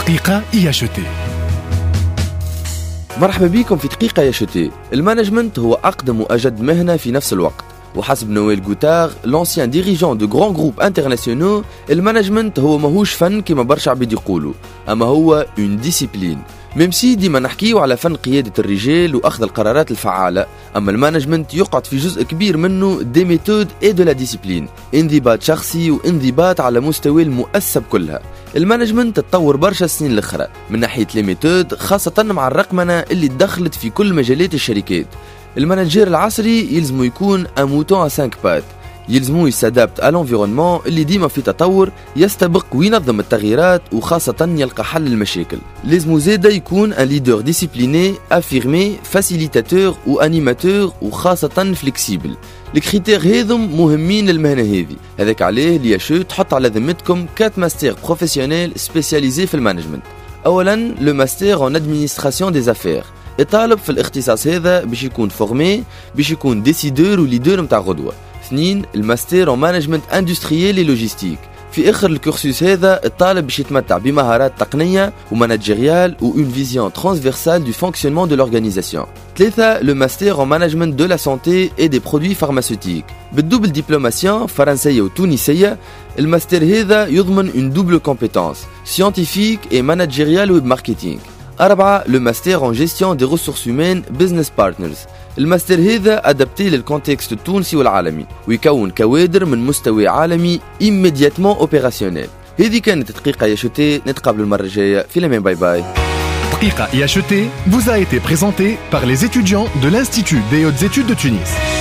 دقيقة IHT. مرحبا بكم في دقيقة ياشوتي. المانجمنت هو أقدم وأجد مهنة في نفس الوقت، وحسب نويل غوتار لونسيان ديريجون دو غران جروب انترناسيونال، المانجمنت هو ماهوش فن كما برشا عباد يقولوا، أما هو اون ديسيبلين. ميم سي ديما نحكيو على فن قيادة الرجال وأخذ القرارات الفعالة، أما المانجمنت يقعد في جزء كبير منه دي ميثود اي دو لا ديسيبلين، انضباط شخصي وانضباط على مستوى المؤسسة كلها. المانجمنت تطور برشا السنين الاخرى من ناحية لي ميثود، خاصة مع الرقمنة اللي دخلت في كل مجالات الشركات. المانجير العصري يلزمو يكون ان موتون ا 5 بات، يلزمو يسادابت على l'environnement اللي ديما في تطور، يستبق وينظم التغييرات وخاصة يلقى حل المشاكل. لازمو زادا يكون ان ليدر ديسيبليني افيرمي فاسيليتاتور وانيماتور وخاصة فليكسيبل. الكريتير هذم مهمين للمهنة هذه، هذاك عليه لياشو تحط على ذمتكم 4 ماستر بروفيسيونيل سبيسياليزي في المانجمنت. اولا لو ماستر ان ادمينستراسيون دي افير، الطالب في الاختصاص هذا باش يكون فورمي، باش يكون ديسيدور وليدر نتاع غدوة. 2 الماستر ان مانجمنت اندستريال اي لوجيستيك، في اخر الكورسوس هذا الطالب باش يتمتع بمهارات تقنيه ومانجيريال و اون فيزيون ترانسفيرسال دو فونكسيونمون دو لورغانيزاسيون. 3 لو ماستر ان مانجمنت دو لا سانتي اي دي برودوي فارماسيوتيك، بالدوبل دبلوماسيون فرنسيه وتونسيه. الماستر هذا يضمن اون دوبل كومبيتونس سيانتيفيك اي مانجيريال و ماركتينغ. 4 لو ماستر ان جيستيون دي ريسورس هومان بزنس بارتنرز، الماستر هذا ادابتي للكونتكست التونسي والعالمي ويكون كوادر من مستوى عالمي immédiatement opérationnel. هذه كانت دقيقة ياشوتي، نتقابل المرة الجاية في لمين. باي باي. دقيقة IHT vous a été présentée par les étudiants de l'Institut des Hautes Études de Tunis.